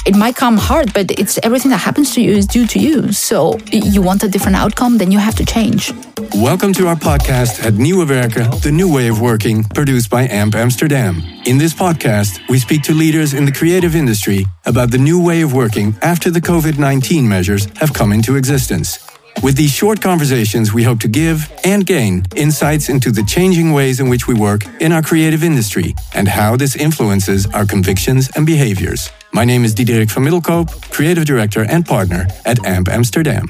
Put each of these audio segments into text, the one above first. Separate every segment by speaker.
Speaker 1: it might come hard, but it's everything that happens to you is due to you. So you want a different outcome, then you have to change.
Speaker 2: Welcome to our podcast at Nieuwe Werken, the new way of working, produced by AMP Amsterdam. In this podcast, we speak to leaders in the creative industry about the new way of working after the COVID-19 measures have come into existence. With these short conversations, we hope to give and gain insights into the changing ways in which we work in our creative industry and how this influences our convictions and behaviors. My name is Diederik van Middelkoop, Creative Director and Partner at AMP Amsterdam.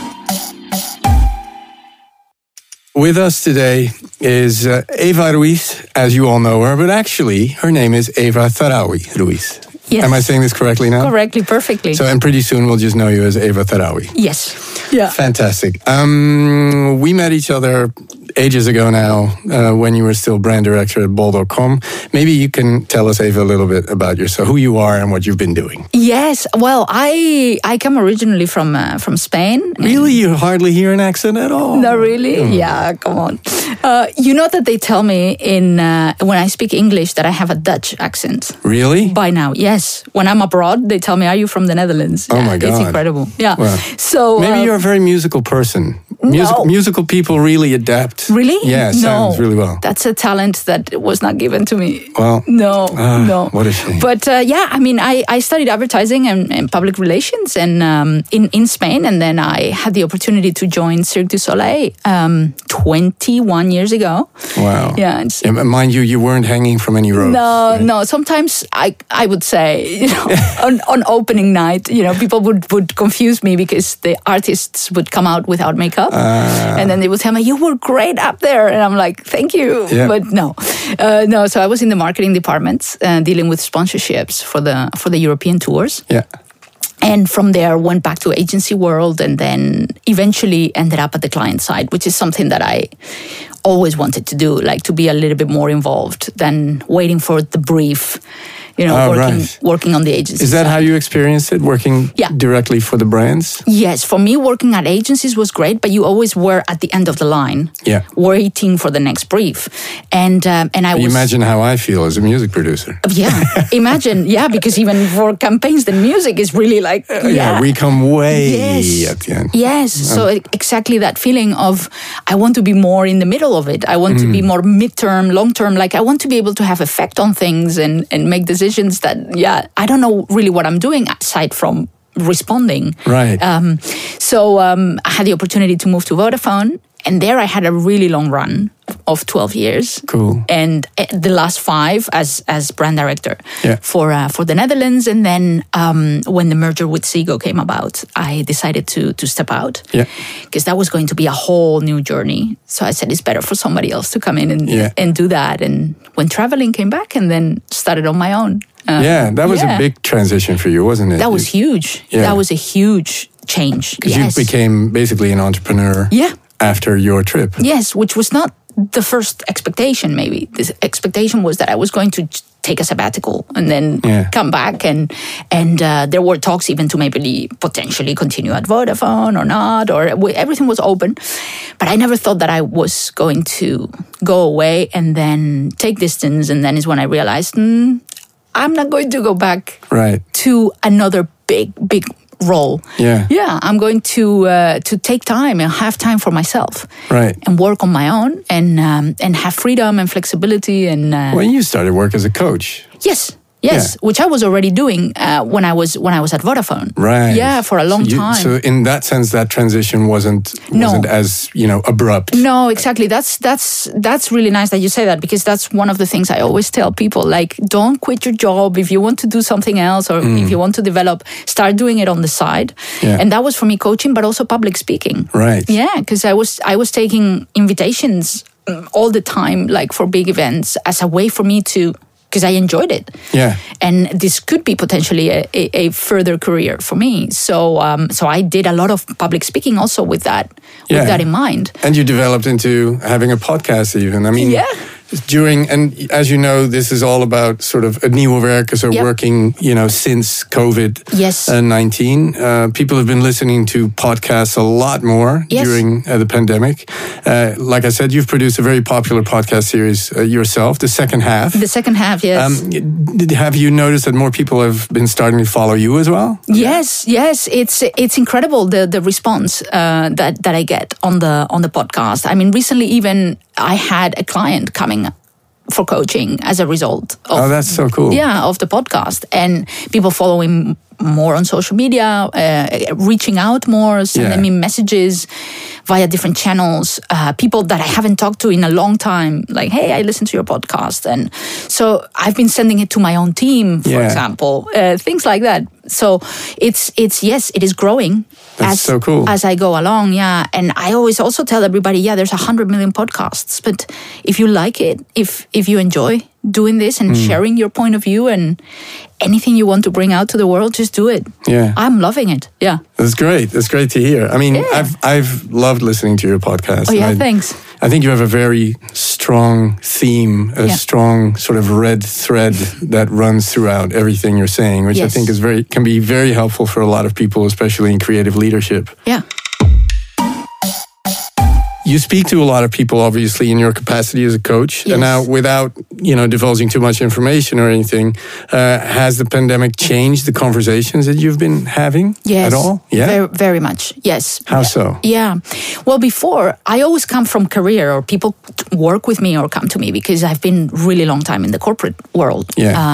Speaker 2: With us today is Eva Ruiz, as you all know her, but actually her name is Eva Tharawi Ruiz.
Speaker 1: Yes.
Speaker 2: Am I saying this correctly now?
Speaker 1: Correctly, perfectly.
Speaker 2: So, and pretty soon we'll just know you as Eva Tharawi.
Speaker 1: Yes. Yeah.
Speaker 2: Fantastic. We met each other ages ago now when you were still brand director at Bol.com. Maybe you can tell us, Eva, a little bit about yourself, who you are and what you've been doing.
Speaker 1: Yes. Well, I come originally from Spain.
Speaker 2: Really? You hardly hear an accent at all?
Speaker 1: No, really? Yeah, come on. You know that they tell me when I speak English that I have a Dutch accent.
Speaker 2: Really?
Speaker 1: By now, yes. When I'm abroad, they tell me, are you from the Netherlands?
Speaker 2: Oh my God.
Speaker 1: It's incredible. Yeah.
Speaker 2: Well,
Speaker 1: so
Speaker 2: maybe you're a very musical person.
Speaker 1: No.
Speaker 2: Musical people really adapt.
Speaker 1: Really?
Speaker 2: Yeah, sounds really well.
Speaker 1: That's a talent that was not given to me.
Speaker 2: Well,
Speaker 1: no.
Speaker 2: What a shame.
Speaker 1: But I studied advertising and public relations and in Spain, and then I had the opportunity to join Cirque du Soleil 21 years ago.
Speaker 2: Wow.
Speaker 1: Yeah.
Speaker 2: Mind you, you weren't hanging from any ropes.
Speaker 1: No,
Speaker 2: right?
Speaker 1: no. Sometimes I would say, on opening night, people would confuse me because the artists would come out without makeup. And then they would tell me, you were great up there. And I'm like, thank you.
Speaker 2: Yeah.
Speaker 1: But no. So I was in the marketing department dealing with sponsorships for the European tours.
Speaker 2: Yeah.
Speaker 1: And from there, went back to agency world and then eventually ended up at the client side, which is something that I always wanted to do, like to be a little bit more involved than waiting for the brief. Working on the agency.
Speaker 2: Is that
Speaker 1: side.
Speaker 2: how you experienced it, working directly for the brands?
Speaker 1: Yes, for me, working at agencies was great, but you always were at the end of the line, waiting for the next brief. And I was...
Speaker 2: Imagine how I feel as a music producer.
Speaker 1: Yeah, imagine, because even for campaigns, the music is really like...
Speaker 2: we come way at the end.
Speaker 1: Yes, so exactly that feeling of, I want to be more in the middle of it. I want to be more midterm, long-term, like I want to be able to have effect on things and make decisions that, I don't know really what I'm doing aside from responding.
Speaker 2: Right.
Speaker 1: So I had the opportunity to move to Vodafone, and there I had a really long run of 12 years.
Speaker 2: Cool.
Speaker 1: And the last 5 as brand director for the Netherlands. And then when the merger with Ziggo came about, I decided to step out. Yeah. Because that was going to be a whole new journey. So I said, it's better for somebody else to come in and do that. And when traveling came back and then started on my own.
Speaker 2: That was a big transition for you, wasn't it?
Speaker 1: That was huge. Yeah. That was a huge change.
Speaker 2: Because you became basically an entrepreneur after your trip.
Speaker 1: Yes, which was not the first expectation, maybe. The expectation was that I was going to take a sabbatical and then come back. And there were talks even to maybe potentially continue at Vodafone or not, or everything was open. But I never thought that I was going to go away and then take distance. And then is when I realized, I'm not going to go back to another big role. Yeah, I'm going to take time and have time for myself, and work on my own and have freedom and flexibility. And
Speaker 2: when you started work as a coach,
Speaker 1: Yes, which I was already doing when I was at Vodafone.
Speaker 2: Right.
Speaker 1: Yeah, for a long time.
Speaker 2: So in that sense, that transition wasn't as abrupt.
Speaker 1: No, exactly. That's really nice that you say that, because that's one of the things I always tell people. Like, don't quit your job if you want to do something else, or if you want to develop. Start doing it on the side. Yeah. And that was for me coaching, but also public speaking.
Speaker 2: Right.
Speaker 1: Yeah, because I was taking invitations all the time, like for big events, as a way for me to. Because I enjoyed it. Yeah. And this could be potentially a further career for me. So I did a lot of public speaking also with that in mind.
Speaker 2: And you developed into having a podcast even. I mean, and as you know, this is all about sort of Nieuwe Werkers are working, since COVID-19. People have been listening to podcasts a lot more during the pandemic. Like I said, you've produced a very popular podcast series yourself, The Second Half.
Speaker 1: The Second Half, yes.
Speaker 2: Have you noticed that more people have been starting to follow you as well?
Speaker 1: Yes. It's incredible the response that I get on the podcast. I mean, recently even I had a client coming for coaching as a result of,
Speaker 2: that's so cool.
Speaker 1: Yeah, of the podcast, and people following more on social media, reaching out more, sending me messages via different channels, people that I haven't talked to in a long time, like, hey, I listened to your podcast. And so I've been sending it to my own team, for example, things like that. So it is growing.
Speaker 2: That's so cool.
Speaker 1: As I go along, And I always also tell everybody, there's 100 million podcasts, but if you like it, if you enjoy doing this and sharing your point of view and anything you want to bring out to the world, just do it.
Speaker 2: Yeah.
Speaker 1: I'm loving it. Yeah.
Speaker 2: That's great. That's great to hear. I mean, I've loved listening to your podcast.
Speaker 1: Oh, yeah, thanks.
Speaker 2: I think you have a very strong theme, a strong sort of red thread that runs throughout everything you're saying, which I think can be very helpful for a lot of people, especially in creative leadership.
Speaker 1: Yeah.
Speaker 2: You speak to a lot of people, obviously, in your capacity as a coach.
Speaker 1: Yes.
Speaker 2: And now, without divulging too much information or anything, has the pandemic changed the conversations that you've been having at all?
Speaker 1: Yeah, very, very much. Yes.
Speaker 2: How so?
Speaker 1: Yeah. Well, before, I always come from career, or people work with me or come to me because I've been really long time in the corporate world,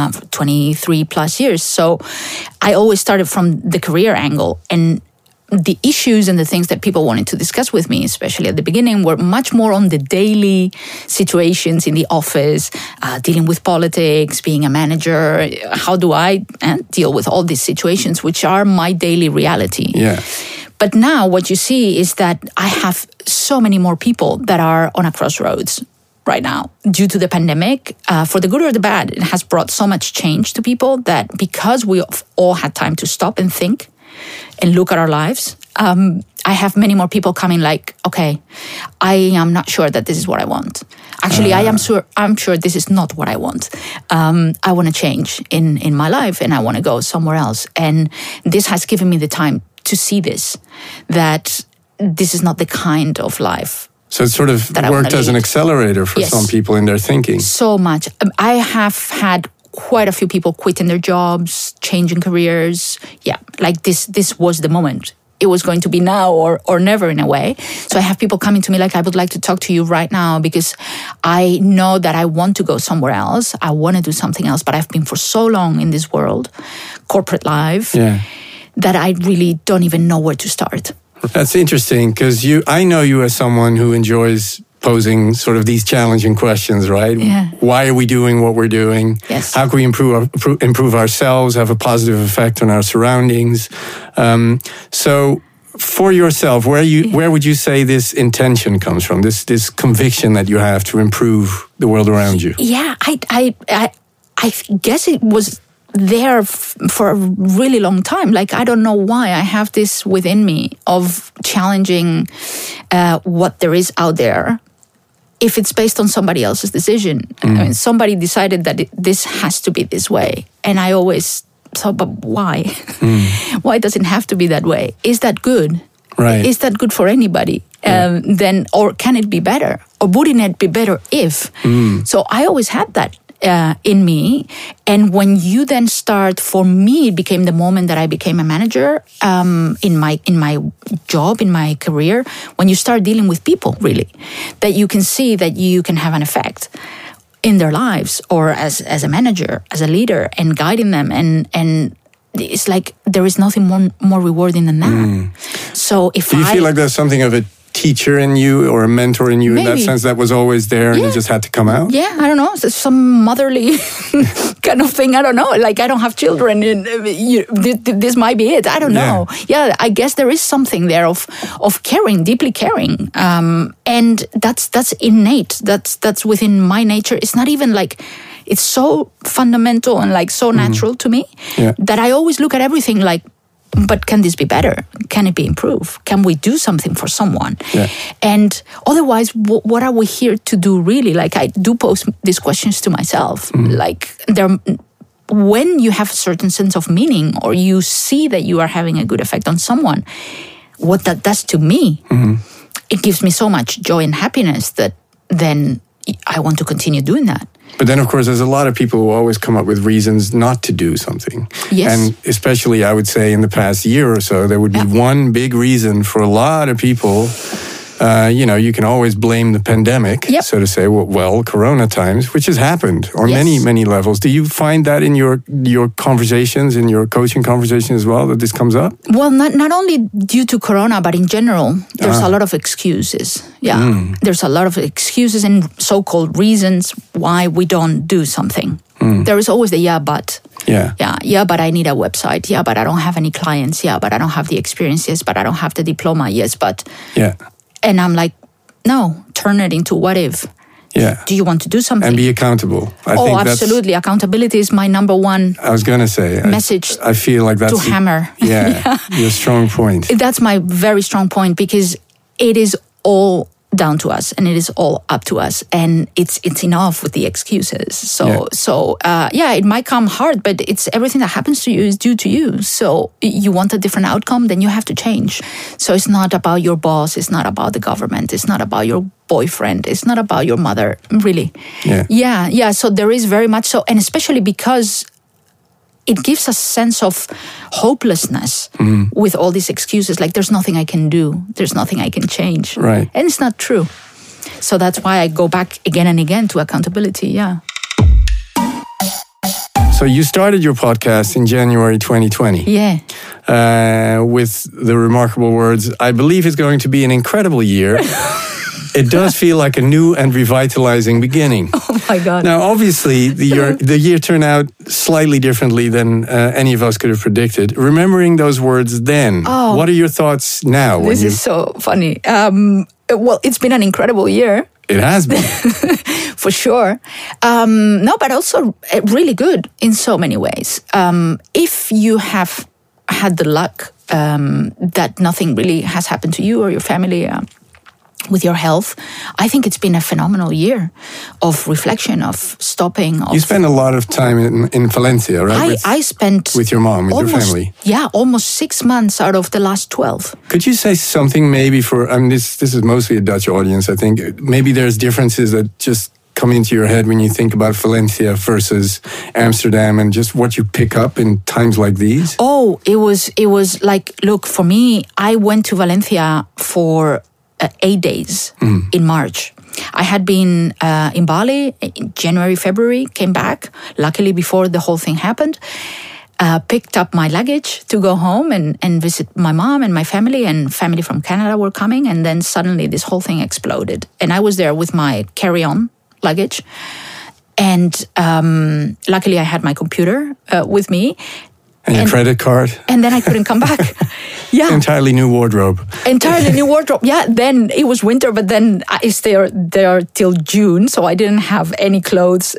Speaker 1: 23 plus years. So I always started from the career angle, and the issues and the things that people wanted to discuss with me, especially at the beginning, were much more on the daily situations in the office, dealing with politics, being a manager. How do I deal with all these situations, which are my daily reality?
Speaker 2: Yeah.
Speaker 1: But now what you see is that I have so many more people that are on a crossroads right now due to the pandemic. For the good or the bad, it has brought so much change to people that because we all had time to stop and think and look at our lives, I have many more people coming like, okay, I am not sure that this is what I want. Actually, I'm sure this is not what I want. I want to change in my life and I want to go somewhere else. And this has given me the time to see this, that this is not the kind of life.
Speaker 2: So it sort of worked as an accelerator for some people in their thinking.
Speaker 1: So much. I have had quite a few people quitting their jobs, changing careers. Yeah, like this was the moment. It was going to be now or never in a way. So I have people coming to me like, I would like to talk to you right now because I know that I want to go somewhere else. I want to do something else, but I've been for so long in this world, corporate life, that I really don't even know where to start.
Speaker 2: That's interesting because I know you as someone who enjoys posing sort of these challenging questions, right?
Speaker 1: Yeah.
Speaker 2: Why are we doing what we're doing?
Speaker 1: Yes.
Speaker 2: How can we improve ourselves, have a positive effect on our surroundings? So for yourself, where would you say this intention comes from, this conviction that you have to improve the world around you?
Speaker 1: Yeah, I guess it was there for a really long time. Like, I don't know why I have this within me of challenging what there is out there. If it's based on somebody else's decision, I mean, somebody decided that this has to be this way. And I always thought, but why? Why does it have to be that way? Is that good?
Speaker 2: Right.
Speaker 1: Is that good for anybody? Then, or can it be better? Or wouldn't it be better if? So I always had that in me. And when you then start, for me, it became the moment that I became a manager in my job, in my career, when you start dealing with people, really, that you can see that you can have an effect in their lives, or as a manager, as a leader, and guiding them. And it's like there is nothing more rewarding than that. So if
Speaker 2: Do you feel like there's something of a teacher in you or a mentor in you in that sense that was this there and it just had to come out?
Speaker 1: Yeah, I don't know. It's some motherly kind of thing. I don't know. Like, I don't have children. And, this might be it. I don't know. Yeah, I guess there is something there of caring, deeply caring. And that's innate. That's within my nature. It's not even like... It's so fundamental and like so natural to me that I always look at everything like but can this be better? Can it be improved? Can we do something for someone?
Speaker 2: Yeah.
Speaker 1: And otherwise, what are we here to do really? Like, I do pose these questions to myself. Like, when you have a certain sense of meaning, or you see that you are having a good effect on someone, what that does to me, it gives me so much joy and happiness that then I want to continue doing that.
Speaker 2: But then, of course, there's a lot of people who always come up with reasons not to do something.
Speaker 1: Yes.
Speaker 2: And especially, I would say, in the past year or so, there would be one big reason for a lot of people. You can always blame the pandemic, so to say, well, Corona times, which has happened on many, many levels. Do you find that in your conversations, in your coaching conversations as well, that this comes up?
Speaker 1: Well, not only due to Corona, but in general, there's a lot of excuses. Yeah, there's a lot of excuses and so-called reasons why we don't do something. There is always the but. Yeah, but I need a website. Yeah, but I don't have any clients. Yeah, but I don't have the experience. Yes, but I don't have the diploma. Yes, but...
Speaker 2: Yeah.
Speaker 1: And I'm like, no, turn it into what if.
Speaker 2: Yeah.
Speaker 1: Do you want to do something?
Speaker 2: And be accountable. I think
Speaker 1: absolutely. Accountability is my number one message.
Speaker 2: I feel like that's...
Speaker 1: to hammer.
Speaker 2: Yeah, your strong point.
Speaker 1: That's my very strong point, because it is all down to us, and it is all up to us, and it's enough with the excuses. So it might come hard, but it's everything that happens to you is due to you. So you want a different outcome, then you have to change. So it's not about your boss, it's not about the government, it's not about your boyfriend, it's not about your mother, really. Yeah. So there is very much so, and especially because it gives a sense of hopelessness with all these excuses. Like, there's nothing I can do. There's nothing I can change.
Speaker 2: Right.
Speaker 1: And it's not true. So that's why I go back again and again to accountability. Yeah.
Speaker 2: So you started your podcast in January 2020.
Speaker 1: Yeah.
Speaker 2: With the remarkable words, I believe it's going to be an incredible year. It does feel like a new and revitalizing beginning.
Speaker 1: Oh my God.
Speaker 2: Now, obviously, the year turned out slightly differently than any of us could have predicted. Remembering those words then, what are your thoughts now?
Speaker 1: This is so funny. Well, it's been an incredible year.
Speaker 2: It has been.
Speaker 1: For sure. No, but also really good in so many ways. If you have had the luck that nothing really has happened to you or your family, with your health, I think it's been a phenomenal year of reflection, of stopping.
Speaker 2: You spent a lot of time in Valencia, right?
Speaker 1: I spent...
Speaker 2: With your mom, with your family.
Speaker 1: Yeah, almost 6 months out of the last 12.
Speaker 2: Could you say something maybe this is mostly a Dutch audience, I think. Maybe there's differences that just come into your head when you think about Valencia versus Amsterdam, and just what you pick up in times like these? Oh,
Speaker 1: it was like, look, for me, I went to Valencia for 8 days in March. I had been in Bali in January, February, came back, luckily before the whole thing happened, picked up my luggage to go home and visit my mom and my family, and family from Canada were coming, and then suddenly this whole thing exploded. And I was there with my carry-on luggage, and luckily I had my computer with me.
Speaker 2: And your credit card.
Speaker 1: And then I couldn't come back. Yeah.
Speaker 2: Entirely new wardrobe.
Speaker 1: Yeah, then it was winter, but then I stayed there till June, so I didn't have any clothes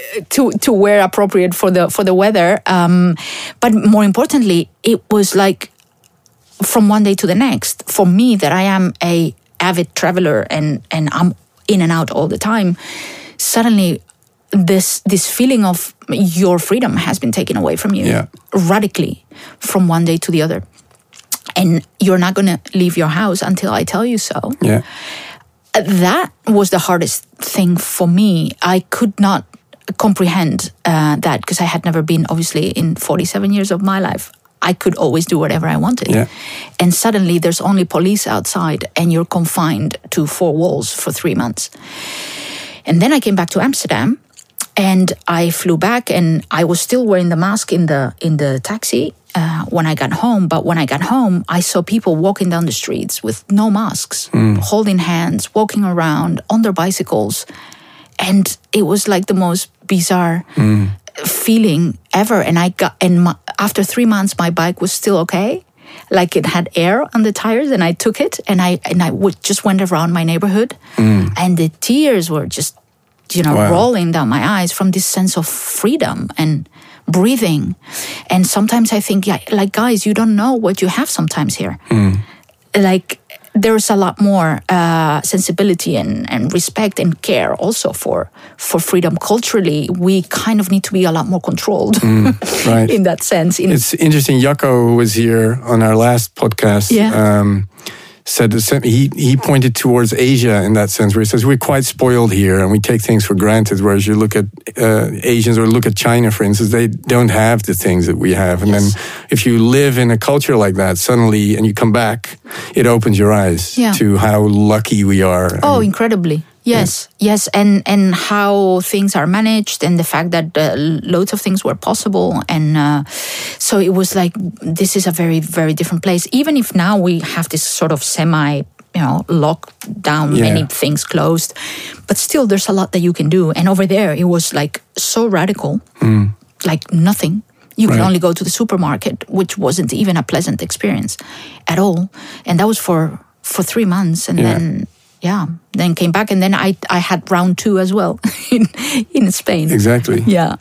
Speaker 1: to wear appropriate for the weather. But more importantly, it was like from one day to the next. For me, that I am a avid traveler and I'm in and out all the time, suddenly this feeling of your freedom has been taken away from you radically from one day to the other. And you're not going to leave your house until I tell you so.
Speaker 2: Yeah.
Speaker 1: That was the hardest thing for me. I could not comprehend that, because I had never been, obviously, in 47 years of my life. I could always do whatever I wanted.
Speaker 2: Yeah.
Speaker 1: And suddenly there's only police outside and you're confined to 4 walls for 3 months. And then I came back to Amsterdam. And I flew back, and I was still wearing the mask in the taxi when I got home. But when I got home, I saw people walking down the streets with no masks, holding hands, walking around on their bicycles. And it was like the most bizarre feeling ever. And after 3 months, my bike was still okay. Like, it had air on the tires, and I took it, and I just went around my neighborhood, and the tears were just rolling down my eyes from this sense of freedom and breathing. And sometimes I think, like, guys, you don't know what you have sometimes here. Like, there's a lot more sensibility and respect and care also for freedom. Culturally, we kind of need to be a lot more controlled
Speaker 2: right.
Speaker 1: in that sense.
Speaker 2: It's interesting. Jacco, who was here on our last podcast, said he pointed towards Asia in that sense, where he says we're quite spoiled here and we take things for granted, whereas you look at Asians or look at China, for instance, they don't have the things that we have. And then if you live in a culture like that suddenly and you come back, it opens your eyes to how lucky we are.
Speaker 1: Oh, incredibly. Yes, and how things are managed, and the fact that loads of things were possible, and so it was like, this is a very, very different place. Even if now we have this sort of lockdown, many things closed, but still there's a lot that you can do. And over there, it was like so radical, like nothing. You could only go to the supermarket, which wasn't even a pleasant experience at all. And that was for 3 months, and then came back, and then I had round 2 as well in Spain.
Speaker 2: Exactly.
Speaker 1: Yeah.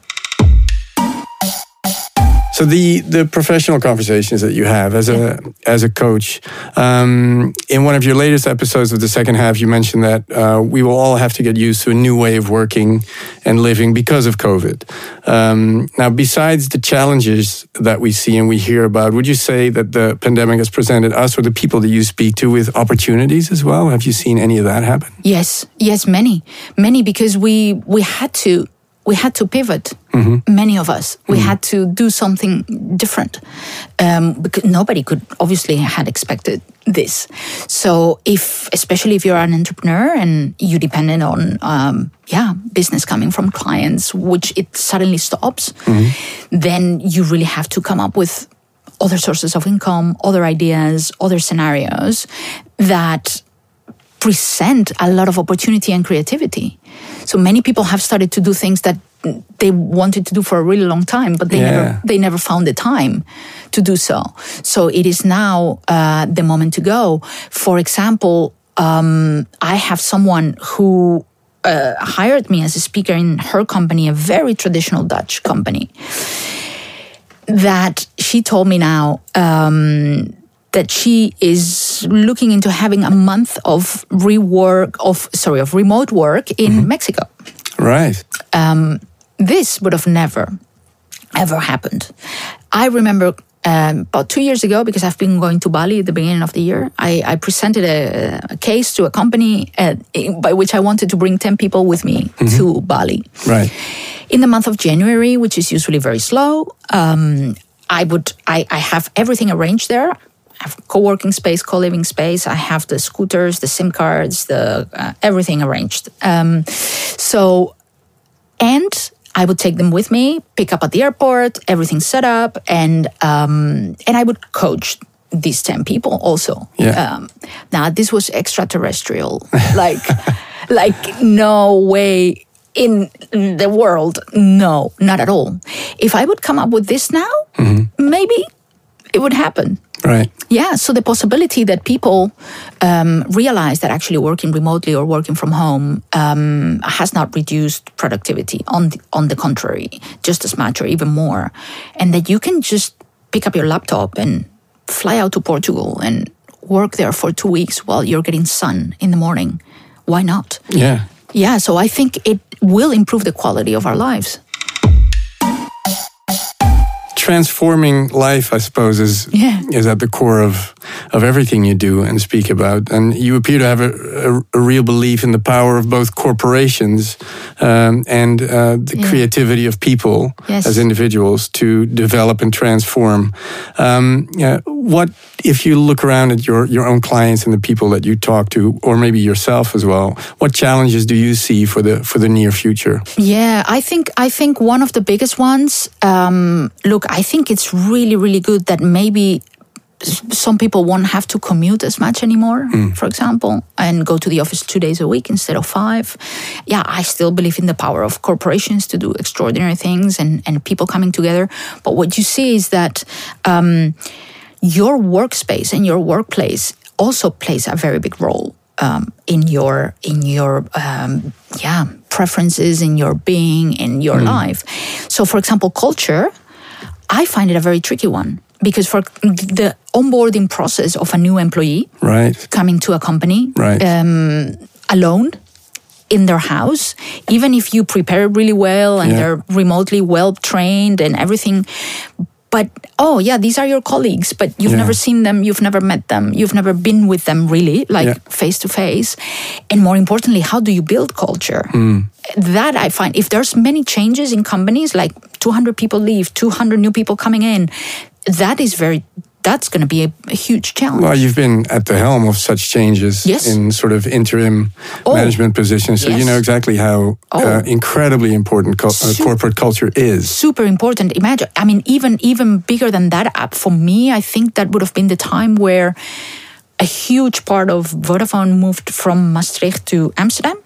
Speaker 2: So the professional conversations that you have as a coach, in one of your latest episodes of the second half, you mentioned that we will all have to get used to a new way of working and living because of COVID. Now, besides the challenges that we see and we hear about, would you say that the pandemic has presented us or the people that you speak to with opportunities as well? Have you seen any of that happen?
Speaker 1: Yes, many, because we had to pivot. Many of us, we had to do something different, because nobody could obviously had expected this. So especially if you're an entrepreneur and you depended on business coming from clients, which it suddenly stops, then you really have to come up with other sources of income, other ideas, other scenarios that present a lot of opportunity and creativity. So many people have started to do things that they wanted to do for a really long time, but they never found the time to do so. So it is now the moment to go. For example, I have someone who hired me as a speaker in her company, a very traditional Dutch company, that she told me now that she is looking into having a month of remote work in Mexico.
Speaker 2: Right.
Speaker 1: This would have never, ever happened. I remember about 2 years ago, because I've been going to Bali at the beginning of the year, I presented a case to a company by which I wanted to bring 10 people with me to Bali.
Speaker 2: Right.
Speaker 1: In the month of January, which is usually very slow, I have everything arranged there. I have co-working space, co-living space. I have the scooters, the SIM cards, the everything arranged. And I would take them with me, pick up at the airport, everything set up, and I would coach these 10 people also.
Speaker 2: Yeah.
Speaker 1: Now this was extraterrestrial, like no way in the world, no, not at all. If I would come up with this now, maybe it would happen.
Speaker 2: Right.
Speaker 1: Yeah, so the possibility that people realize that actually working remotely or working from home has not reduced productivity. On the contrary, just as much or even more. And that you can just pick up your laptop and fly out to Portugal and work there for 2 weeks while you're getting sun in the morning. Why not?
Speaker 2: Yeah.
Speaker 1: Yeah, so I think it will improve the quality of our lives.
Speaker 2: Transforming life, I suppose, is at the core of everything you do and speak about. And you appear to have a real belief in the power of both corporations and the creativity of people as individuals to develop and transform. What, if you look around at your own clients and the people that you talk to, or maybe yourself as well, what challenges do you see for the near future?
Speaker 1: Yeah, I think one of the biggest ones, I think it's really, really good that maybe some people won't have to commute as much anymore, for example, and go to the office 2 days a week instead of 5. Yeah, I still believe in the power of corporations to do extraordinary things and people coming together. But what you see is that your workspace and your workplace also plays a very big role in your preferences, in your being, in your life. So, for example, culture I find it a very tricky one. Because for the onboarding process of a new employee coming to a company alone in their house, even if you prepare really well and they're remotely well trained and everything, but these are your colleagues, but you've never seen them, you've never met them, you've never been with them really, face to face. And more importantly, how do you build culture? That I find, if there's many changes in companies, like 200 people leave, 200 new people coming in, that's going to be a huge challenge.
Speaker 2: Well, you've been at the helm of such changes in sort of interim management positions, so you know exactly how incredibly important corporate culture is.
Speaker 1: Super important. Imagine, I mean, even bigger than that, for me, I think that would have been the time where a huge part of Vodafone moved from Maastricht to Amsterdam.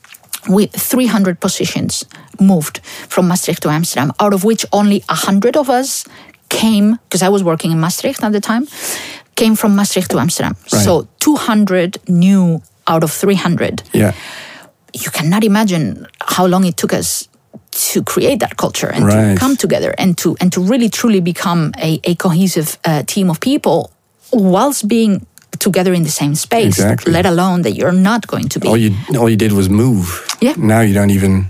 Speaker 1: With 300 positions moved from Maastricht to Amsterdam, out of which only 100 of us came, because I was working in Maastricht at the time, came from Maastricht to Amsterdam. Right. So 200 new out of 300.
Speaker 2: Yeah.
Speaker 1: You cannot imagine how long it took us to create that culture and to come together and to really truly become a cohesive team of people whilst being together in the same space, let alone that you're not going to be.
Speaker 2: All you did was move.
Speaker 1: Yeah.
Speaker 2: Now you don't even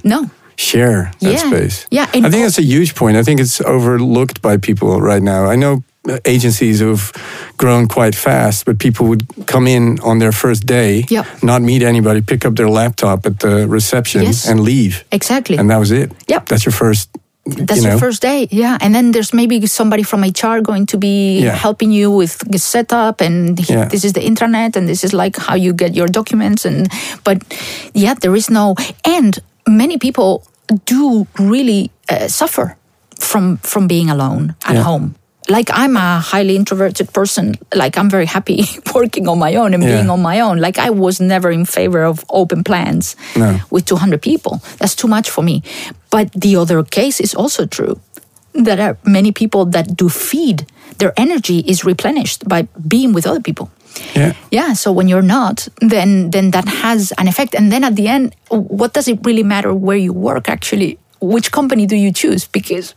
Speaker 2: share that space.
Speaker 1: Yeah.
Speaker 2: I think that's a huge point. I think it's overlooked by people right now. I know agencies who've grown quite fast, but people would come in on their first day, not meet anybody, pick up their laptop at the reception and leave.
Speaker 1: Exactly.
Speaker 2: And that was it.
Speaker 1: Yep.
Speaker 2: That's your first
Speaker 1: your first day, and then there's maybe somebody from HR going to be helping you with the setup, and this is the intranet, and this is like how you get your documents, but there is no, and many people do really suffer from being alone at home. Like, I'm a highly introverted person. Like, I'm very happy working on my own and being on my own. Like, I was never in favor of open plans with 200 people. That's too much for me. But the other case is also true. There are many people that do feed. Their energy is replenished by being with other people. Yeah. So when you're not, then that has an effect. And then at the end, what does it really matter where you work, actually? Which company do you choose? Because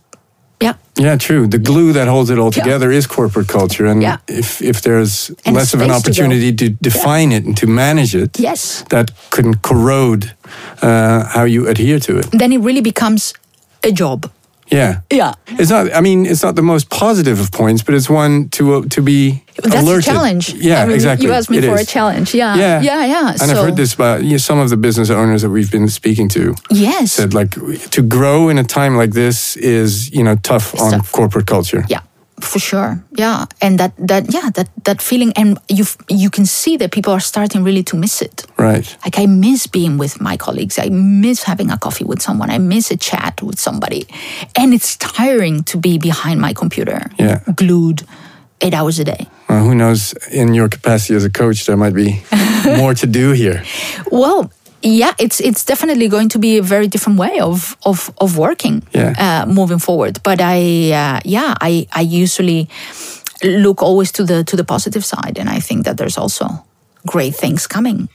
Speaker 2: yeah, true. The glue that holds it all together is corporate culture. And if there's less of an opportunity to define it and to manage it, that can corrode how you adhere to it.
Speaker 1: Then it really becomes a job.
Speaker 2: Yeah. It's not the most positive of points, but it's one to be
Speaker 1: that's
Speaker 2: alerted.
Speaker 1: A challenge.
Speaker 2: Yeah, exactly.
Speaker 1: You asked me for a challenge. Yeah.
Speaker 2: And I've heard this about some of the business owners that we've been speaking to.
Speaker 1: Yes.
Speaker 2: Said, like, to grow in a time like this is, tough on corporate culture.
Speaker 1: Yeah. For sure, yeah, and that feeling, and you can see that people are starting really to miss it.
Speaker 2: Right.
Speaker 1: Like, I miss being with my colleagues. I miss having a coffee with someone. I miss a chat with somebody, and it's tiring to be behind my computer, glued 8 hours a day.
Speaker 2: Well, who knows? In your capacity as a coach, there might be more to do here.
Speaker 1: Well. Yeah, it's definitely going to be a very different way of working moving forward. But I usually look always to the positive side, and I think that there's also great things coming.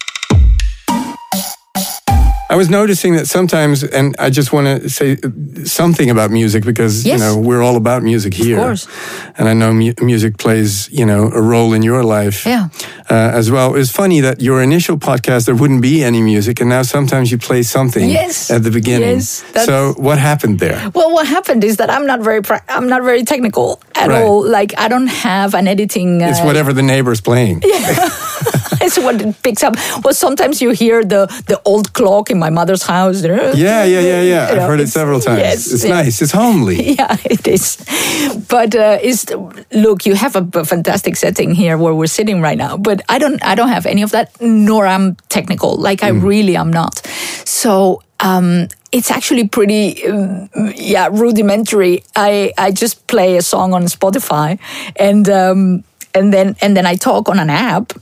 Speaker 2: I was noticing that sometimes, and I just want to say something about music because, we're all about music here.
Speaker 1: Of course.
Speaker 2: And I know music plays, a role in your life as well. It's funny that your initial podcast, there wouldn't be any music, and now sometimes you play something at the beginning.
Speaker 1: Yes,
Speaker 2: so what happened there?
Speaker 1: Well, what happened is that I'm not very technical at all. Like, I don't have an editing...
Speaker 2: It's whatever the neighbor's playing.
Speaker 1: It's what it picks up. Well, sometimes you hear the old clock in my mother's house.
Speaker 2: Yeah. I've heard it several times. Yes, it's nice. It's homely.
Speaker 1: Yeah, it is. But look, you have a fantastic setting here where we're sitting right now. But I don't have any of that, nor I'm technical. Like, I really am not. So it's actually pretty rudimentary. I just play a song on Spotify, and then I talk on an app.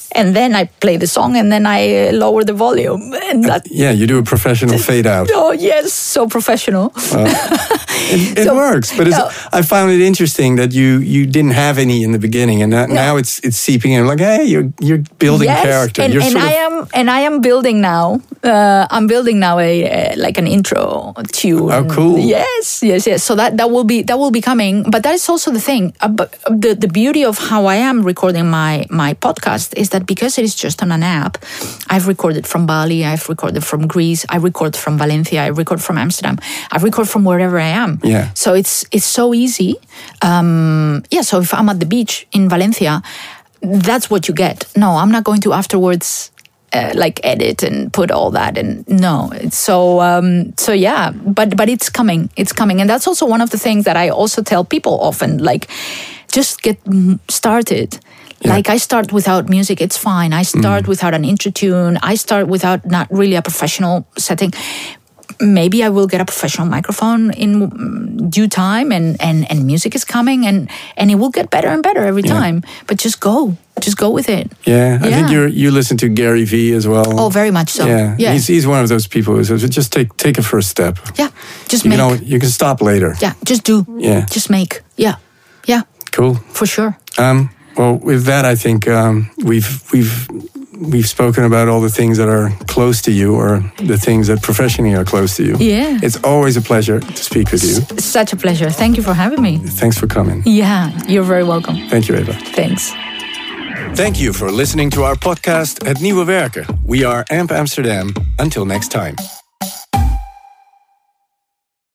Speaker 1: And then I play the song, and then I lower the volume. And
Speaker 2: you do a professional fade out.
Speaker 1: Oh, yes, so professional.
Speaker 2: It works, but I found it interesting that you didn't have any in the beginning, and now it's seeping in. Like, hey, you're building character.
Speaker 1: And I am building now. I'm building now like an intro tune.
Speaker 2: Oh, cool!
Speaker 1: Yes. So that will be coming. But that is also the thing. The beauty of how I am recording my podcast is that because it is just on an app, I've recorded from Bali, I've recorded from Greece, I record from Valencia, I record from Amsterdam, I record from wherever I am.
Speaker 2: Yeah.
Speaker 1: So it's so easy. So if I'm at the beach in Valencia, that's what you get. No, I'm not going to afterwards like edit and put all that, and no, it's so yeah. But it's coming, and that's also one of the things that I also tell people often. Like, just get started. Yeah. Like, I start without music, it's fine. I start without an intro tune. I start without not really a professional setting. Maybe I will get a professional microphone in due time, and music is coming, and it will get better and better every time. But just go with it.
Speaker 2: Yeah, I think you listen to Gary Vee as well.
Speaker 1: Oh, very much so.
Speaker 2: Yeah. He's one of those people who says, just take a first step.
Speaker 1: Yeah, just make.
Speaker 2: You can stop later.
Speaker 1: Yeah, just do.
Speaker 2: Yeah,
Speaker 1: just make. Yeah.
Speaker 2: Cool.
Speaker 1: For sure.
Speaker 2: Well, with that, I think we've spoken about all the things that are close to you, or the things that professionally are close to you.
Speaker 1: Yeah.
Speaker 2: It's always a pleasure to speak with you.
Speaker 1: Such a pleasure. Thank you for having me.
Speaker 2: Thanks for coming.
Speaker 1: Yeah, you're very welcome.
Speaker 2: Thank you, Eva.
Speaker 1: Thanks.
Speaker 2: Thank you for listening to our podcast at Nieuwe Werken. We are AMP Amsterdam. Until next time.